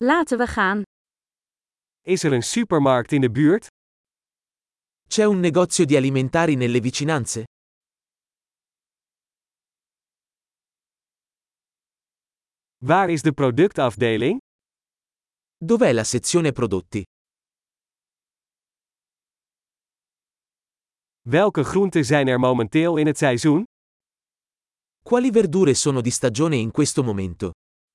Laten we gaan. Is er een supermarkt in de buurt? C'è un negozio di alimentari nelle vicinanze? Waar is de productafdeling? Dov'è la sezione prodotti? Welke groenten zijn er momenteel in het seizoen? Quali verdure sono di stagione in questo momento?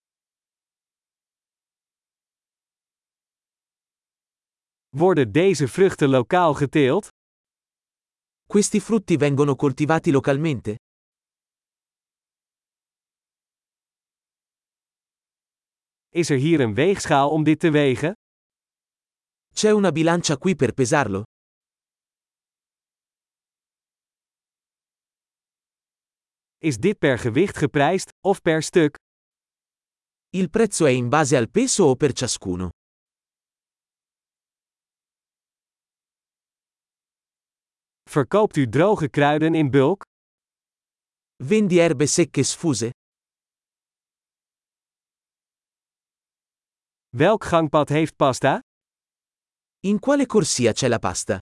Worden deze vruchten lokaal geteeld? Questi frutti vengono coltivati localmente? Is er hier een weegschaal om dit te wegen? C'è una bilancia qui per pesarlo? Is dit per gewicht geprijsd, of per stuk? Il prezzo è in base al peso o per ciascuno? Verkoopt u droge kruiden in bulk? Vendi erbe secche sfuse? Welk gangpad heeft pasta? In quale corsia c'è la pasta?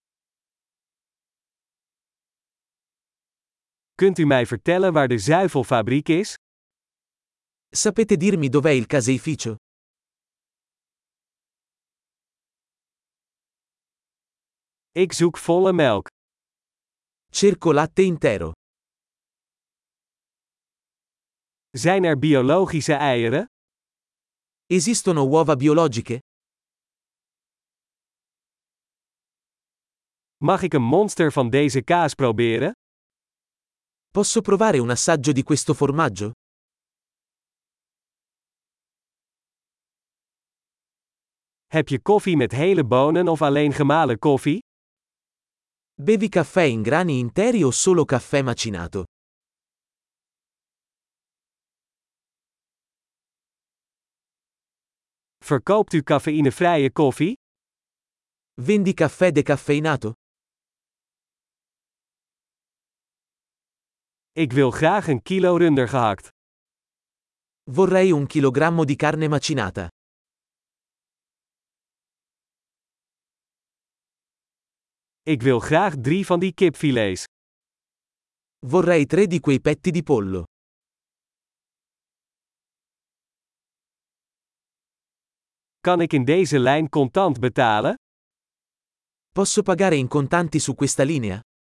Kunt u mij vertellen waar de zuivelfabriek is? Sapete dirmi dov'è il caseificio? Ik zoek volle melk. Cerco latte intero. Zijn er biologische eieren? Esistono uova biologiche? Mag ik een monster van deze kaas proberen? Posso provare un assaggio di questo formaggio? Heb je koffie met hele bonen of alleen gemalen koffie? Bevi caffè in grani interi o solo caffè macinato? Verkoopt u cafeïnevrije koffie? Vendi caffè decaffeinato? Ik wil graag een kilo runder gehakt. Vorrei 1 chilogrammo di carne macinata. Ik wil graag 3 van die kipfilets. Vorrei 3 di quei petti di pollo. Kan ik in deze lijn contant betalen? Posso pagare in contanti su questa linea?